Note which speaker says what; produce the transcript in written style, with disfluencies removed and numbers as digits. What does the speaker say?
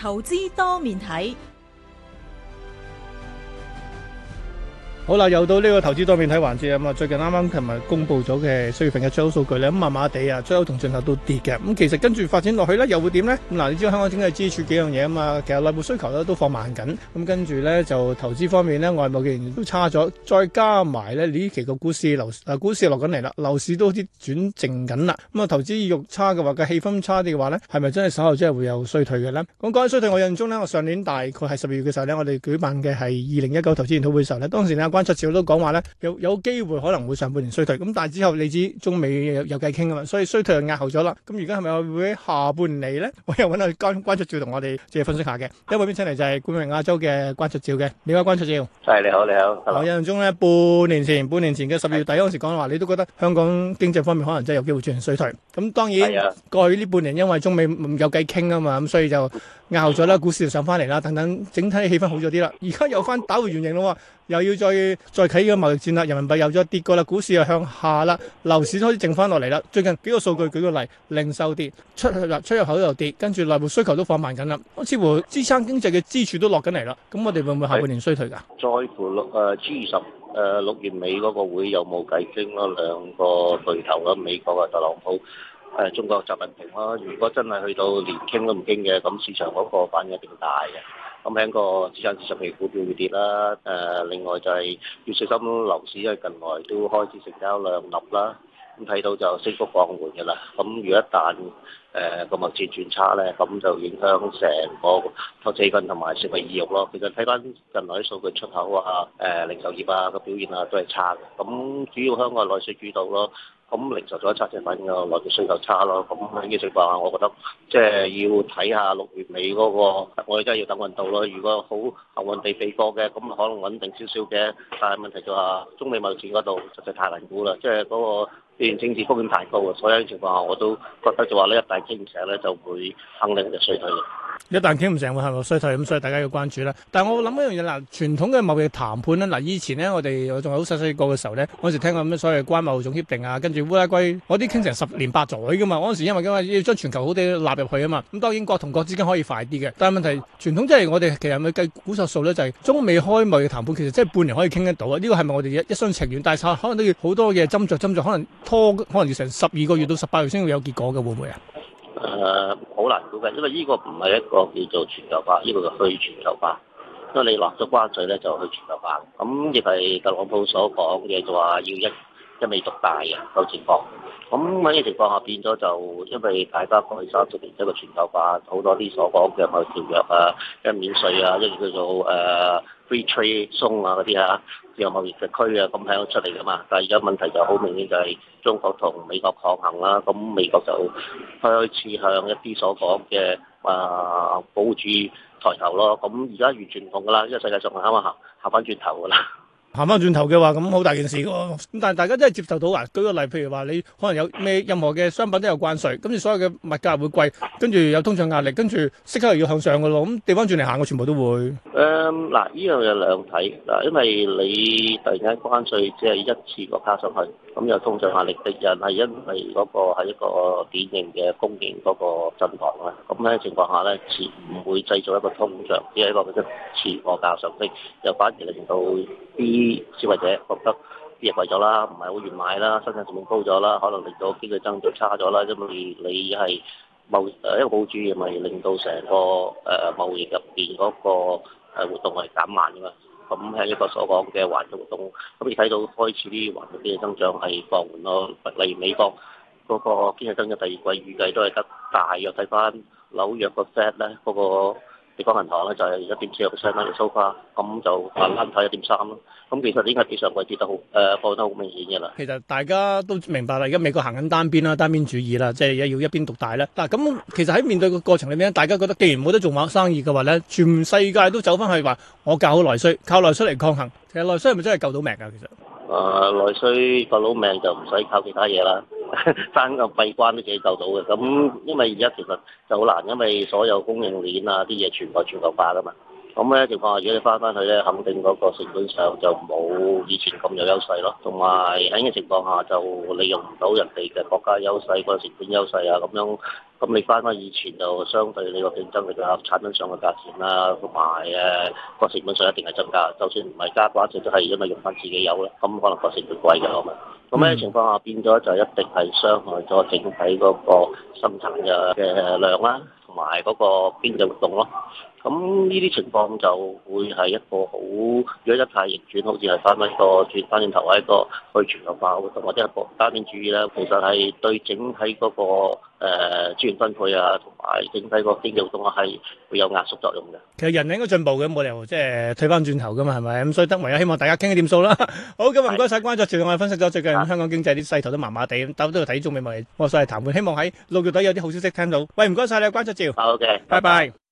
Speaker 1: 投資多面睇。
Speaker 2: 好啦，又到呢個投資多面睇環節咁啊！最近啱啱琴日公布咗嘅4月份嘅出口數據咧，咁麻麻地啊，出口同進口都跌嘅。咁其實跟住發展落去咧，又會點咧？咁嗱，你知道香港經濟支柱幾樣嘢啊嘛，其實內部需求咧都放慢緊。咁跟住咧就投資方面咧，外貿既然都差咗，再加埋咧呢期個股市落緊嚟啦，樓市都好似轉靜緊啦。咁啊，投資意欲差嘅話，個氣氛差啲嘅話咧，係咪真係稍後真係會有衰退嘅咧？講起衰退，我印象中咧，我上年大概係12月嘅時候咧，我哋舉辦嘅係2019投資研討會嘅時候咧，當時咧關焯照都講話咧，有機會可能會上半年衰退，咁但係之後你知中美有偈傾啊嘛，所以衰退就壓後咗啦。咁而家係咪會喺下半年嚟咧？我又揾下關焯照同我哋即係分析下嘅。第一位邊請嚟就係冠榮亞洲嘅關焯照嘅，你好關焯照。
Speaker 3: 係，你好。
Speaker 2: 我印象中咧，半年前嘅10月底嗰陣時講話，你都覺得香港經濟方面可能真係有機會出現衰退。咁當然過去呢半年因為中美有偈傾啊嘛，咁所以就壓後咗啦，股市就上翻嚟啦，等等，整體氣氛好咗啲啦。而家又翻打回原形咯，又要再啟個貿易戰啦，人民幣又再跌過啦，股市又向下啦，樓市開始靜翻落嚟啦。最近幾個數據舉個例，零售跌，出入口又跌，跟住內部需求都放慢緊啦，似乎支撐經濟嘅支柱都落緊嚟啦。咁我哋會唔會下半年衰退㗎？
Speaker 3: 在乎G20 6月尾嗰個會有冇偈傾咯？兩個巨頭啦，美國嘅特朗普。中國習近平啦，如果真係去到連傾都唔傾嘅，咁市場嗰個反應一定大嘅。咁喺個資產市場嘅股票會跌啦。另外就係要小心樓市，因為近來都開始成交量立啦。咁睇到就升幅放緩嘅啦。咁如果一旦個貿易轉差咧，咁就影響成個投資氣氛同埋消費意欲咯。其實睇翻近來啲數據，出口啊、零售業啊個表現啊都係差嘅。咁主要香港係內需主導咯。咁零售咗一差就反映個內地需求差咯。咁喺呢個情況下，我覺得即係要睇下6月尾嗰個，我哋真係要等運到咯。如果好幸運地避過嘅，咁可能穩定少少嘅。但係問題就係中美貿易戰嗰度實在太難估啦，即係嗰個地緣政治風險太高啊。所以喺呢個情況下，我都覺得就話呢，一旦傾唔成咧，就會肯定就衰退嘅。
Speaker 2: 一旦傾唔成會係咪衰退咁，所以大家要關注啦。但係我諗一樣嘢嗱，傳統嘅貿易談判咧，嗱以前咧我仲係好細個嘅時候咧，嗰時聽過咁所謂關貿總協定啊，跟住烏拉圭嗰啲傾成10年8載噶嘛。嗰陣時因為要將全球好地納入去啊嘛，咁當然國同國之間可以快啲嘅，但係問題傳統即係我哋其實咪計估數數咧，就係中美開貿易談判其實即係半年可以傾得到啊。呢個係咪我哋一廂情願？但係可能都要好多嘅斟酌，可能要成12個月到18個月先會有結果嘅，會唔會啊？
Speaker 3: 好難估計，因為呢個唔係一個叫做全球化，呢個就去全球化。因為你落咗關稅咧，就去全球化。咁亦係特朗普所講嘅，就話要一味獨大嘅個情況。咁喺呢個情況下變咗就，因為大家過去30年一個全球化，好多啲所講嘅貿易條約啊，一免稅啊，一叫做free trade zone 啊嗰啲啊，自由貿易嘅區啊，咁喺度出嚟噶嘛。但係而家問題就好明顯就係中國同美國抗衡啦。咁美國就開始向一啲所講嘅保護主義抬頭咯。咁而家完全唔同噶啦，因為世界上係啱啱行翻轉頭噶啦。
Speaker 2: 行翻轉頭嘅話，咁好大件事喎。咁但係大家真係接受到啊？舉個例，譬如話你可能有任何嘅商品都有關稅，跟住所有嘅物價會貴，跟住有通脹壓力，跟住息口又要向上嘅咯。咁調翻轉嚟行，我全部都會。嗱，呢樣有兩睇嗱，因為你突然間關稅只係一次過加上去，咁有通脹壓力的人係因為嗰個係一個典型嘅供應嗰個震盪啦。咁喺情況下咧，唔會製造一個通脹，只係一個嘅次過價上升，又反而令到啲消費者覺得啲嘢貴咗啦，唔係好願買啦，生產成本高咗啦，可能令到經濟增長差咗啦，因為你係一個保護主義，咪令到成個貿易入邊嗰個活動係減慢㗎嘛。咁係一個所講嘅環球活動，咁你睇到開始啲環球經濟增長係放緩咯。例如美國嗰個經濟增長第二季預計都係得大約睇翻紐約個 Fed 咧嗰個地方銀行咧就係1.4%啦，so far，咁就難睇1.3咯。咁其實呢個比上季跌得好，放得好明顯嘅啦。 其實大家都明白啦，而家美國行緊單邊啦，單邊主義啦，即係要一邊獨大啦。嗱，咁其實喺面對個過程裏面，大家覺得既然冇得做生意嘅話咧，全世界都走翻去話我教好內需，靠內需嚟抗衡。其實內需係咪真係救到命㗎？其實
Speaker 3: 內需救到命就唔使靠其他嘢啦，單個閉關都自己救到嘅。咁因為而家其實就好難，因為所有供應鏈啊啲嘢全部全球化㗎嘛。 咁咧情況下，如果你翻去咧，肯定嗰個成本上就冇以前咁有優勢咯。同埋喺呢個情況下，就利用唔到人哋嘅國家優勢、個成本優勢啊，咁樣。咁你翻以前就相對你個競爭力啊、產品上嘅價錢啦，同埋個成本上一定係增加。就算唔係加嘅話，就都係因為用翻自己有啦。咁可能個成本貴嘅係咪？咁呢情況下變咗就一定係傷害咗整體嗰個生產嘅量啦，同埋嗰個經濟活動咯。咁呢啲情況就會係一個好，如果一太逆轉，好似係翻轉頭係一個去全球化活動，或者係個單邊主義咧，其實係對整體嗰個資源分配啊，同埋整體個經濟活動係會有壓縮作用嘅。
Speaker 2: 其實人應該進步嘅，冇理由即係退翻轉頭噶嘛，係咪？咁所以唯有希望大家傾啲掂數啦。好，咁啊唔該晒關焯照，我哋分析咗最近香港經濟啲勢頭都麻麻地，但都要睇中美貿易，我所謂談判，希望喺6月底有啲好消息聽到。喂，唔該晒你，關焯照。
Speaker 3: 好嘅，
Speaker 2: 拜拜。